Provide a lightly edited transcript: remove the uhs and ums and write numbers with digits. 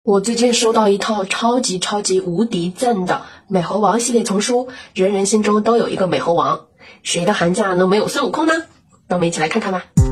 我最近收到一套超级无敌赞的美猴王系列丛书，人人心中都有一个美猴王，谁的寒假能没有孙悟空呢？让我们一起来看看吧。